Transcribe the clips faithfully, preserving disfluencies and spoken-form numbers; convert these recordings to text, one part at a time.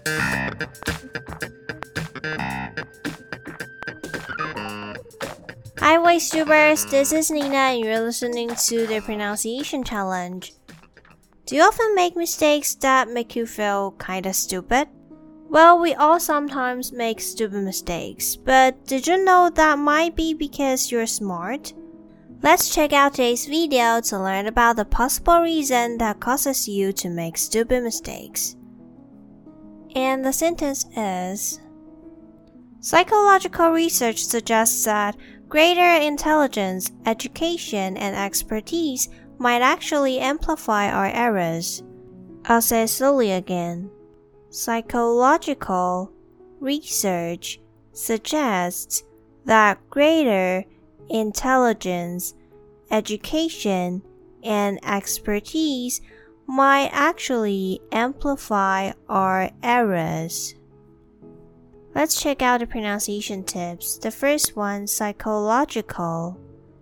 Hi, Voice-Tubers, this is Nina and you're listening to the Pronunciation Challenge. Do you often make mistakes that make you feel kinda stupid? Well, we all sometimes make stupid mistakes, but did you know that might be because you're smart? Let's check out today's video to learn about the possible reason that causes you to make stupid mistakes. And the sentence is, psychological research suggests that greater intelligence, education, and expertise might actually amplify our errors. I'll say it slowly again. Psychological research suggests that greater intelligence, education, and expertise might actually amplify our errors. Let's check out the pronunciation tips. The first one, psychological.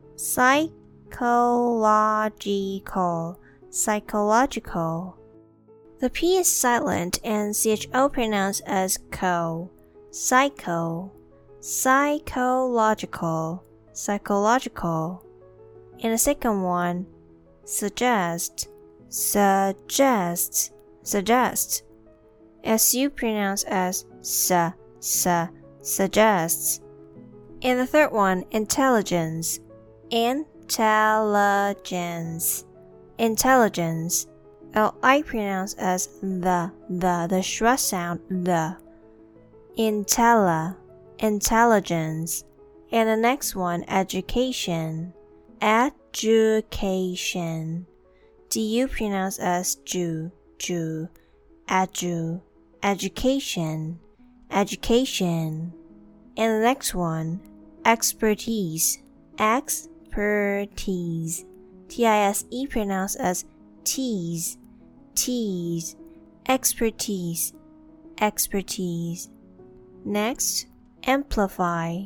Psychological. Psychological. The P is silent and C H O pronounced as co. Psycho. Psychological. Psychological. And the second one, suggest. Suggest. Suggest. S U pronounced as sa. Su, suggests. And the third one, intelligence. Intelligence. Intelligence. L I pronounced as the, the, the schwa sound, the. Intella. Intelligence. And the next one, education. Education. D U pronounced as ju, ju. Edu. Education. Education. And the next one, expertise. Expertise. T I S E pronounced as tease. Tease. Expertise. Expertise. Next, amplify.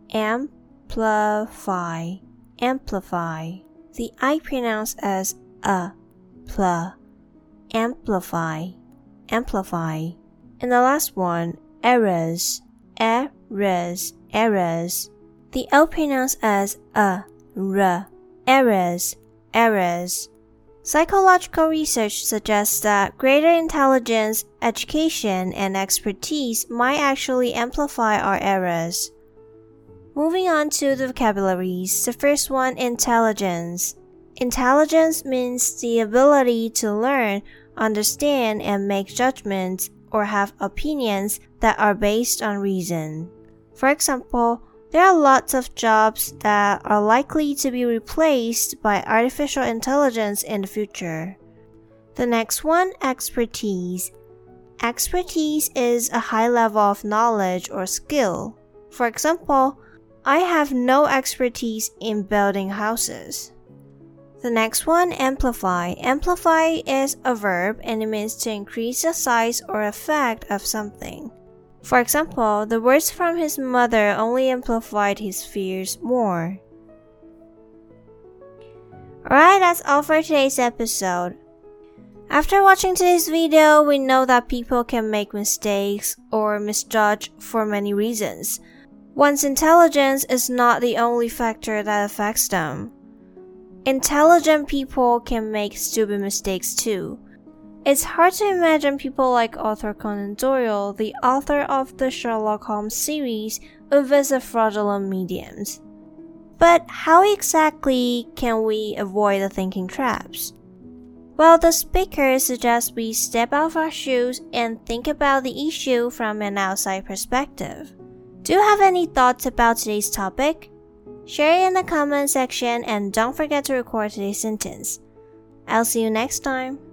Amplify. Amplify. The I pronounced as a. Pl. Amplify. Amplify. And the last one, errors. Errors. Errors. The O pronounced as a. R. Errors. Errors. Psychological research suggests that greater intelligence, education, and expertise might actually amplify our errors. Moving on to the vocabularies. The first one, intelligence. Intelligence means the ability to learn, understand, and make judgments or have opinions that are based on reason. For example, there are lots of jobs that are likely to be replaced by artificial intelligence in the future. The next one, expertise. Expertise is a high level of knowledge or skill. For example, I have no expertise in building houses. The next one, amplify. Amplify is a verb and it means to increase the size or effect of something. For example, the words from his mother only amplified his fears more. Alright, that's all for today's episode. After watching today's video, we know that people can make mistakes or misjudge for many reasons. One's intelligence is not the only factor that affects them. Intelligent people can make stupid mistakes too. It's hard to imagine people like Arthur Conan Doyle, the author of the Sherlock Holmes series, who visit fraudulent mediums. But how exactly can we avoid the thinking traps? Well, the speaker suggests we step out of our shoes and think about the issue from an outside perspective. Do you have any thoughts about today's topic? Share it in the comment section and don't forget to record today's sentence. I'll see you next time.